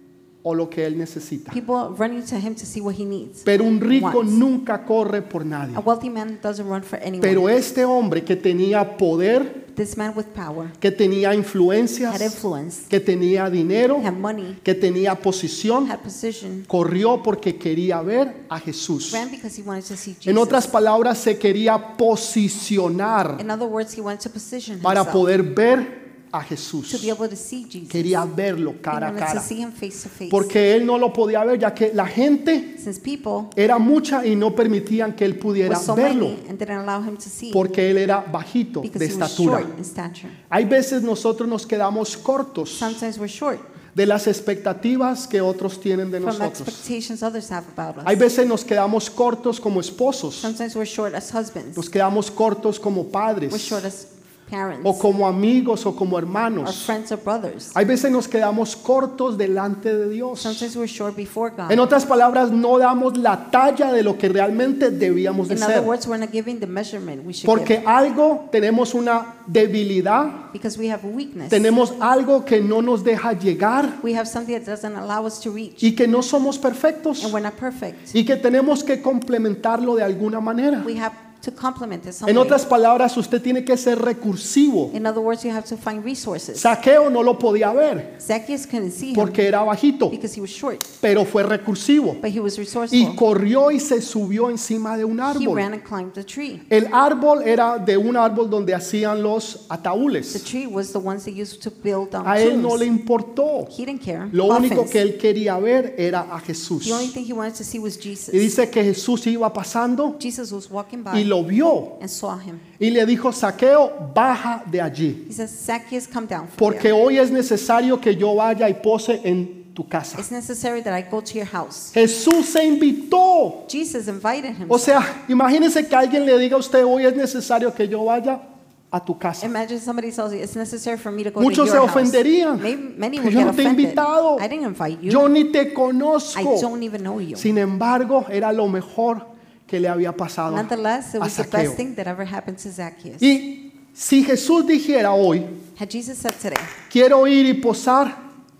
o lo que él necesita. People running to him to see what he needs. Pero un rico wants. nunca corre por nadie. A wealthy man doesn't run for anyone. Pero este hombre que tenía poder, This man with power que tenía had influencias, influence, que tenía dinero, had money, que tenía posición, had position, corrió porque quería ver a Jesús. ran because he wanted to see En otras Jesus. palabras, se quería posicionar In other words, he wanted to position para himself poder ver a to Jesús. be able to see Jesus. Quería verlo He cara a wanted to cara. see him face to face. Porque él no lo podía ver, ya que la gente Since people era mucha y no permitían que él pudiera were so verlo, many and didn't allow him to see porque él era bajito because de he was estatura. short in stature. Hay veces nosotros nos quedamos cortos Sometimes we're short de las expectativas que otros tienen de from nosotros. expectations others have about Hay us. veces nos quedamos cortos como esposos, Sometimes we're short as husbands. nos quedamos cortos como We're padres short as parents o como amigos o como or hermanos. friends or brothers. Hay veces nos quedamos cortos delante de Dios. Sometimes we're short before God. En otras palabras, no damos la talla de lo que realmente debíamos de In other ser. words, we're not giving the measurement we should Porque give algo, tenemos una debilidad, because we have a weakness. tenemos algo que no nos deja llegar We have something that doesn't allow us to reach, y que no somos perfectos and we're not perfect. y que tenemos que complementarlo de alguna manera. We have to complement it some En way. otras palabras, usted tiene que ser recursivo. In other words, you have to find resources. Saqueo no lo podía ver Zacchaeus couldn't see him porque era bajito, because he was short, pero fue recursivo but he was y resourceful. corrió y se subió encima de un He árbol. ran and climbed the tree. El árbol era de un árbol donde hacían los The ataúdes. tree was the ones they used to build um, A él no le tombs. importó. He didn't care. Lo único Coffins. que él quería ver era a Jesús. The only thing he wanted to see was Jesus. Y dice que Jesús iba pasando Jesus was walking y by lo vio and saw him. y le dijo, Saqueo, baja de allí, He says, Zacchaeus, come down from porque there. hoy es necesario que yo vaya y pose en tu casa. It's necessary that I go to your house. Jesús se invitó. Jesus invited him. O sea, imagínese que alguien le diga a usted, hoy es necesario que yo vaya a tu casa. Imagine somebody tells you it's necessary for me to go Muchos to se your house. ofenderían. Maybe, many Que would yo get no te he offended. invitado. I didn't invite you. Yo ni te I conozco. don't even know you. Sin embargo, era lo mejor que le había pasado Nonetheless, it a was the Saqueo. best thing that ever happened to Zacchaeus. Y si Jesús dijera hoy, Had Jesus said today, quiero ir y posar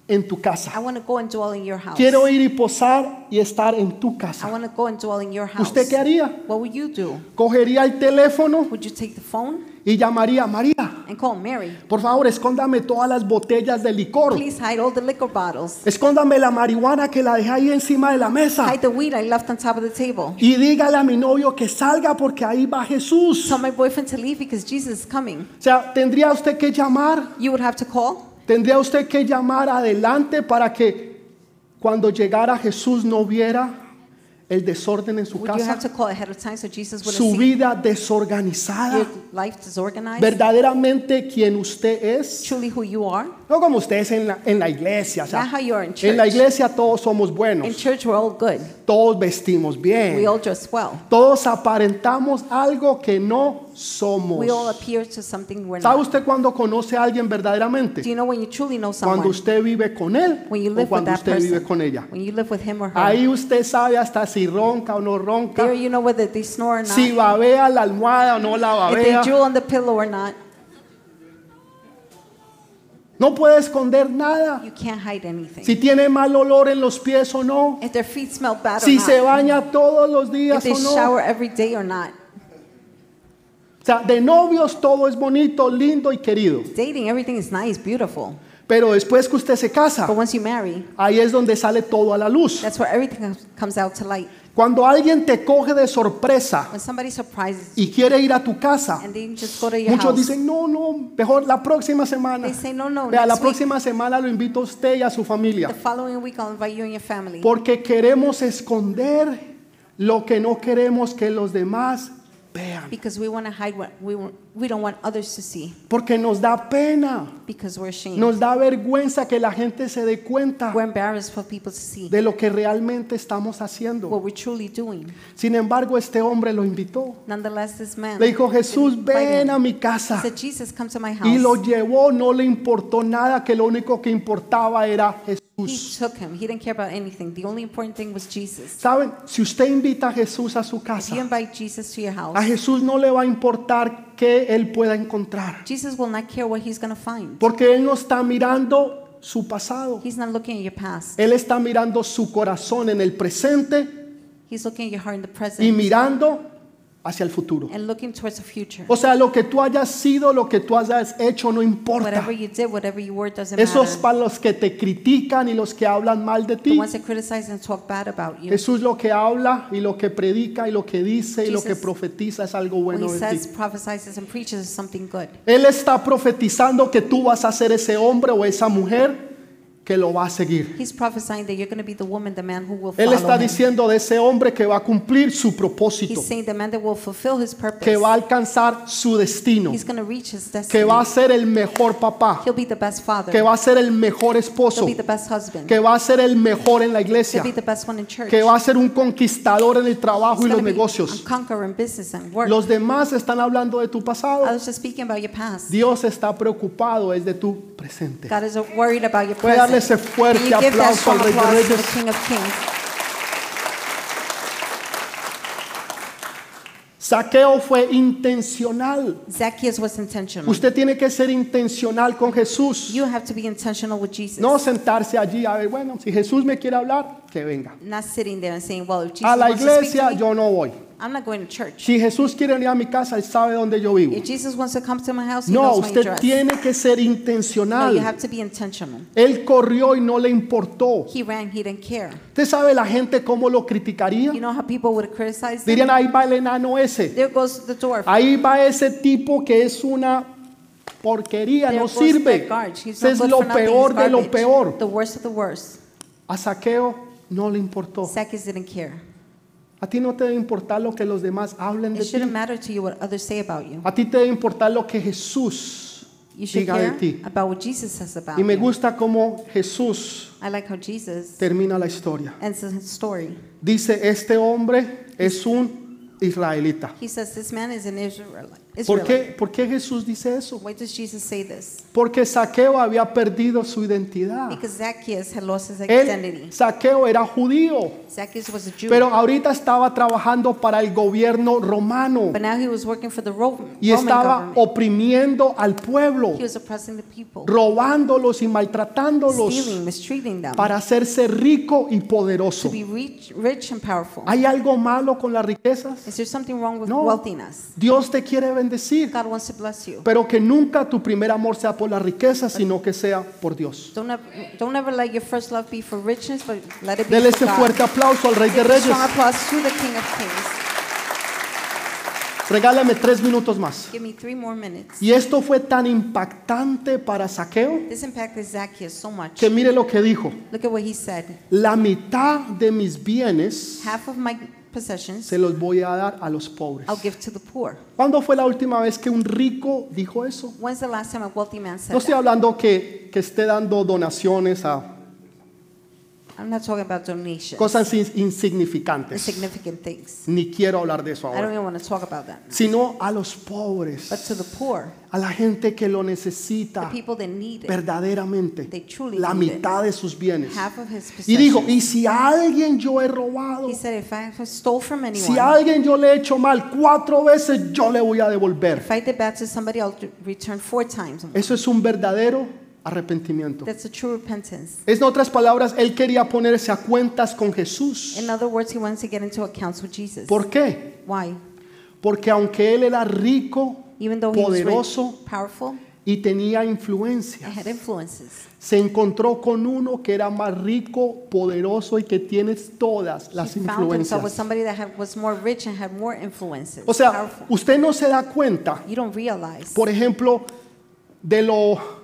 en tu casa. I want to go and dwell in your house. Quiero ir y posar y estar en tu I casa. want to go and dwell in your house. ¿Usted qué haría? What would you do? Cogería el teléfono Would you take the phone y llamaría, María, and call Mary? por favor, escóndame todas las botellas de licor. Please hide all the liquor bottles. Escóndame la marihuana que la dejé ahí encima de la mesa. Hide the weed I left on top of the table. Y dígale a mi novio que salga porque ahí va Jesús. Tell my boyfriend to leave because Jesus is coming. O sea, tendría usted que llamar, You would have to call. tendría usted que llamar adelante para que cuando llegara Jesús no viera el desorden en su Would you have casa, to call ahead of time so Jesus wouldn't su see vida desorganizada, your life disorganized? verdaderamente quien usted es, Truly who you are? no como usted es en la, en la iglesia. O sea, Not how you are in en la church. iglesia todos somos In buenos, church we're all good. todos vestimos We bien, all dress well. todos aparentamos algo que no somos. We all appear to something we're ¿Sabe not. usted cuando conoce a alguien verdaderamente? Do you know when you truly know Cuando someone? usted vive con él When you o live with cuando that usted vive person. con ella. When you live with him or her. Ahí usted sabe hasta si ronca o no ronca, There you know whether they snore or not. si babea la almohada o no la If they babea. drool on the pillow or not. No puede esconder nada. You can't hide anything. Si tiene mal olor en los pies o no. If their feet smell bad Si or se not. baña todos los If días they o no. shower every day or not. O sea, de novios todo es bonito, lindo y querido. Dating, everything is nice, beautiful. Pero después que usted se casa, But once you marry, ahí es donde sale todo a la luz. that's where everything comes- comes out to light. Cuando alguien te coge de sorpresa When somebody surprises you y quiere ir a tu casa, and they just go to your muchos house, dicen, no, no, mejor la próxima semana. they say, no, no, Vea, la next week, próxima semana lo invito a usted y a su familia. the following week I'll invite you and your family. Porque queremos esconder lo que no queremos que los demás vean. Because we want to hide what we, want- we don't want others to see. Porque nos da pena, Because we're ashamed. nos da vergüenza que la gente se dé cuenta We're embarrassed for people to see de lo que realmente estamos haciendo. what we're truly doing. Sin embargo, este hombre lo invitó. Nonetheless, this man Le dijo, Jesús, invited ven a him. mi He casa. said, Jesus, come to my house. Y lo llevó, no le importó nada, que lo único que importaba era He Jesús. took him. He didn't care about anything. The only important thing was Jesus. Saben, si usted invita a Jesús a su If you casa, invite Jesus to your house, a Jesús no le va a importar qué él pueda encontrar. Jesus will not care what he's going to find. Porque él no está mirando su pasado. He's not looking at your past. Él está mirando su corazón en el presente He's looking at your heart in the y present mirando hacia el futuro. and looking towards the future. O sea, lo que tú hayas sido, lo que tú hayas hecho, no importa. Whatever you did, whatever you were, doesn't Esos matter. para los que te critican y los que hablan mal de The ti. ones that criticize and talk bad about you. Jesús lo que habla y lo que predica y lo que dice y lo que Jesus, profetiza es algo When bueno he de ti. says, prophesies and preaches is something good. Él está profetizando que tú vas a ser ese hombre o esa mujer que lo va a seguir. He's prophesying that you're going to be the woman, the man who will Él follow está him. diciendo de ese hombre que va a cumplir su propósito, He's saying the man that will fulfill his purpose. que va a alcanzar su destino, He's going to reach his destiny. que va a ser el mejor papá, He'll be the best father. que va a ser el mejor He'll esposo, be the best husband. que va a ser el mejor en la He'll iglesia, be the best one in church. que va a ser un conquistador en el trabajo He's y los gonna be negocios. a conqueror in business and work. Los demás están hablando de tu pasado. I was just speaking about your past. Dios está preocupado es de tu presente. God is worried about your Puede darle present. ese fuerte Can you give that aplauso al strong Rey de applause to the Reyes. King of Kings? Saqueo fue intencional. Zacchaeus was intentional. Usted tiene que ser intencional con Jesús. You have to be intentional with Jesus. No sentarse allí a ver, bueno, si Jesús me quiere hablar, que venga. Not sitting there and saying, well, if Jesus A la wants to speak to iglesia me, yo no voy. I'm not going to church. Si Jesús quiere venir a mi casa, Él sabe dónde yo vivo. If Jesus wants to come to my house, he No, knows my usted address. tiene que ser No, you intencional. have to be intentional. Él corrió y no le importó. He ran, he didn't care. ¿Usted sabe la gente cómo lo criticaría? You know how people would criticize them? Dirían, ahí va el enano ese. There goes the dwarf. Ahí va ese tipo que es una porquería, There no goes sirve. that garbage. He's Ese not es good lo for nothing. peor He's de lo garbage. peor. The worst of the worst. A Saqueo no le importó. Zacchaeus didn't care. A ti no te debe importar lo que los demás hablen de It ti. shouldn't matter to you what others say about you. A ti te debe importar lo que Jesús You should diga de care ti. about what Jesus says about Y me you. gusta cómo Jesús I like how Jesus termina la historia. ends his story. Dice, este hombre es un israelita. He says this man is an Israelite. ¿Por qué, Israelite. ¿Por qué Jesús dice eso? Why does Jesus say this? Porque Zaqueo había perdido su identidad. Because Zacchaeus had lost his Él, identity. Zaqueo era judío, Zacchaeus was a Jew. pero ahorita estaba trabajando para el gobierno romano But now he was working for the Ro- y Roman estaba government. oprimiendo al pueblo, He was oppressing the people, robándolos y maltratándolos stealing, mistreating them, para hacerse rico y poderoso. to be rich, rich and powerful. ¿Hay algo malo con las riquezas? Is there something wrong with No. wealthiness? Dios te quiere bendecir, God wants to bless you. pero que nunca tu primer amor sea por las riquezas, sino que sea por Dios. Don't ever, don't ever let your first love be for richness, but let it be Dele for ese God. fuerte aplauso al Rey de Give a Reyes. strong applause to the King of Kings. Regálame tres minutos más. Give me three more minutes. Y esto fue tan impactante para Zaqueo This impacted Zacchaeus so much. que mire lo que dijo. Look at what he said. La mitad de mis bienes Half of my possessions se los voy a dar a los pobres. I'll give to the poor. ¿Cuándo fue la última vez que un rico dijo eso? When's the last time a wealthy man said No estoy that? hablando que, que esté dando donaciones a I'm not talking about donations, cosas in- insignificantes. insignificant things. Ni quiero hablar de eso I don't ahora. even want to talk about that. Sino a los pobres, But to the poor, a la gente que lo the necesita people that need it, verdaderamente, they truly la need it. mitad de sus bienes. Half of his Y dijo, possessions. y si a alguien yo he robado, He said, if I stole from anyone, si a alguien yo le he hecho mal cuatro veces, yo le voy a devolver. if I did bad to somebody, I'll do- return four times. Eso es un verdadero arrepentimiento. That's a true repentance. En otras palabras, él quería ponerse a cuentas con Jesús. In other words, he wants to get into accounts with Jesus. ¿Por qué? Why? Porque aunque él era rico, Even though he was poderoso rich, powerful, y tenía and influencia, had influences, se encontró con uno que era más rico, poderoso y que tiene todas las he found himself with influencias. somebody that had, was more rich and had more influences. O sea, powerful. usted no se da cuenta, You don't realize, por ejemplo, de lo,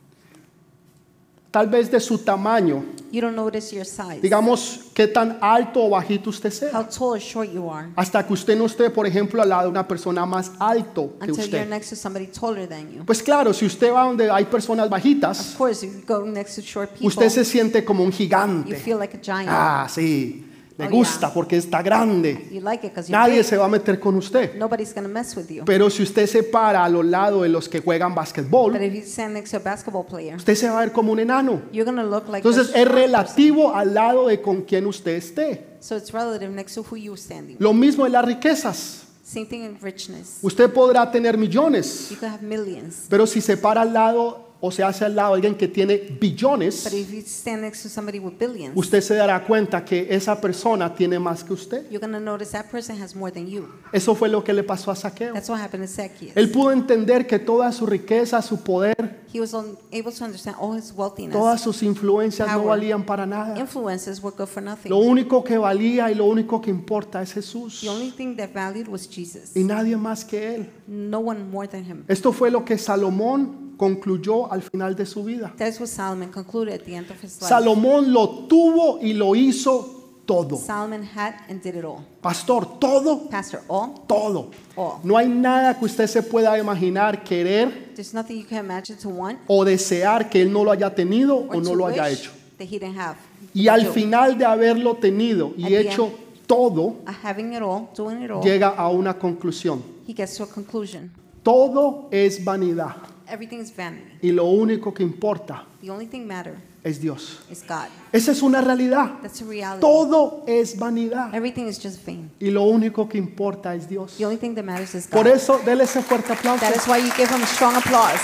tal vez de su tamaño, you don't notice your size, digamos, qué tan alto o bajito usted how sea, tall or short you are, hasta que usted no esté, por ejemplo, al lado de una persona más alto que until you're usted. next to somebody taller than you. Pues claro, si usted va donde hay personas Of bajitas, course, if you go next to short people, usted se siente como un you gigante. feel like a giant. Ah, sí, le Oh, gusta yeah. porque está grande. You like it because you're Nadie big. se va a meter con usted. Nobody's going to mess with you. Pero si usted se para a los lados de los que juegan But básquetbol, if you stand next to a basketball player, usted se va a ver como un enano. you're going to look like Entonces a es short person. relativo al lado de con quien usted esté. So it's relative next to who you're standing. Lo mismo en las riquezas. Same thing in richness. Usted podrá tener millones, You could have millions, pero si se para al lado o se hace al lado de alguien que tiene billones, but if you stand next to somebody with billions, usted se dará cuenta que esa persona tiene más que usted. you're going to notice that person has more than you. Eso fue lo que le pasó a Zaqueo. That's what happened to Zacchaeus. Él pudo entender que toda su riqueza, su poder, He was un- able to understand all his wealthiness. todas sus influencias no Power. valían para nada. Influences were good for nothing. Lo único que valía y lo único que importa es Jesús The only thing that valued was Jesus. y nadie más que Él. No one more than him. Esto fue lo que Salomón concluyó al final de su vida. That's what Solomon concluded at the end of his life. Salomón lo tuvo y lo hizo todo. Solomon had and did it all. Pastor, todo, Pastor, all, todo. all. No hay nada que usted se pueda imaginar, querer There's nothing you can imagine to want o desear que Él no lo haya tenido or o no to lo haya wish hecho. that he didn't have. Y al Do. final de haberlo tenido y At the hecho end. todo, Uh, Having it all, doing it all, llega a una conclusión. he gets to a conclusion. Todo es vanidad Everything is vanity. y lo único que importa The only thing matter es Dios. is God. Esa es una realidad. That's a reality. Todo es vanidad Everything is just vain. y lo único que importa es Dios. The only thing that matters is Por God. eso, déle ese fuerte aplauso. That is why you give him strong applause.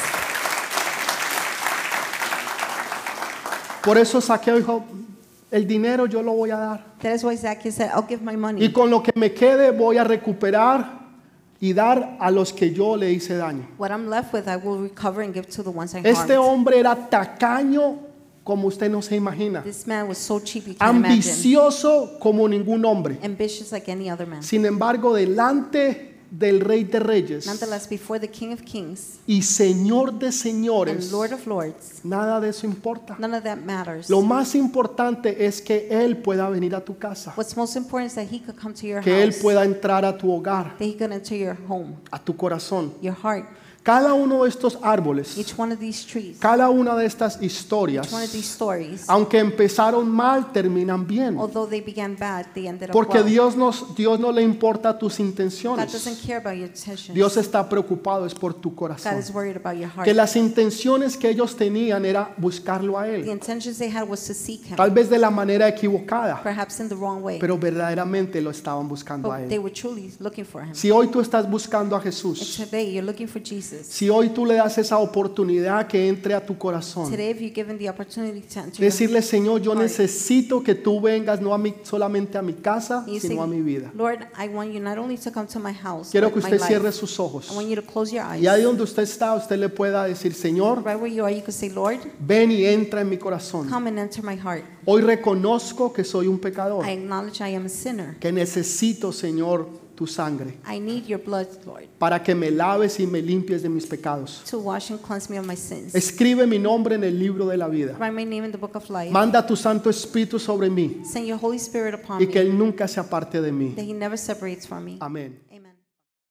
Por eso Zaqueo dijo, el dinero yo lo voy a dar. That is why Zacchaeus said, I'll give my Y money. con lo que me quede voy a recuperar y dar a los que yo le hice daño. What I'm left with, I will recover and give to the ones I Este harmed. hombre era tacaño como usted no se imagina. This man was so cheap you can't imagine. Ambicioso como ningún hombre. Ambitious like any other man. Sin embargo, delante del Rey de Reyes Nonetheless, before the King of Kings y Señor de and señores, Lord of Lords, nada de eso importa. none of that matters. Lo más importante es que Él pueda venir a tu casa, What's most important is that he could come to your que Él house, pueda entrar a tu hogar, that he could enter your home, a tu corazón. your heart. Cada uno de estos árboles, Each one of these trees, cada una de estas historias, each one of these stories, aunque empezaron mal, terminan bien. although they began bad, they ended up Porque well. Dios, nos, Dios no le importa tus God intenciones. doesn't care about your intentions. Dios está preocupado es por tu God corazón. is worried about your heart. Que las intenciones que ellos tenían era buscarlo a The Él. intentions they had was to seek Him, Tal vez de la manera equivocada, perhaps in the wrong way, pero verdaderamente lo estaban buscando a but they Él. were truly looking for Him. Si hoy tú estás buscando a And Jesús, today you're looking for Jesus. si hoy tú le das esa oportunidad que entre a tu corazón, Today, if you're given the opportunity to enter your decirle, Señor, yo heart, necesito que tú vengas no a mi, solamente a mi casa, and you say, sino a mi vida. Lord, I want you not only to come to my house, Quiero but que my usted life. cierre sus ojos. I want you to close your eyes. Y ahí donde usted está, usted le pueda decir, Señor, Right where you are, you can say, Lord, ven y entra en mi corazón. come and enter my heart. Hoy reconozco que soy un pecador, I acknowledge I am a sinner. que necesito, Señor, tu sangre, I need your blood, Lord, para que me laves y me limpies de mis pecados. to wash and cleanse me of my sins. Escribe mi nombre en el libro de la vida. Write my name in the book of life. Manda tu Santo Espíritu sobre mí Send your Holy Spirit upon y que me, Él nunca se aparte de mí. that He never separates from me. Amén.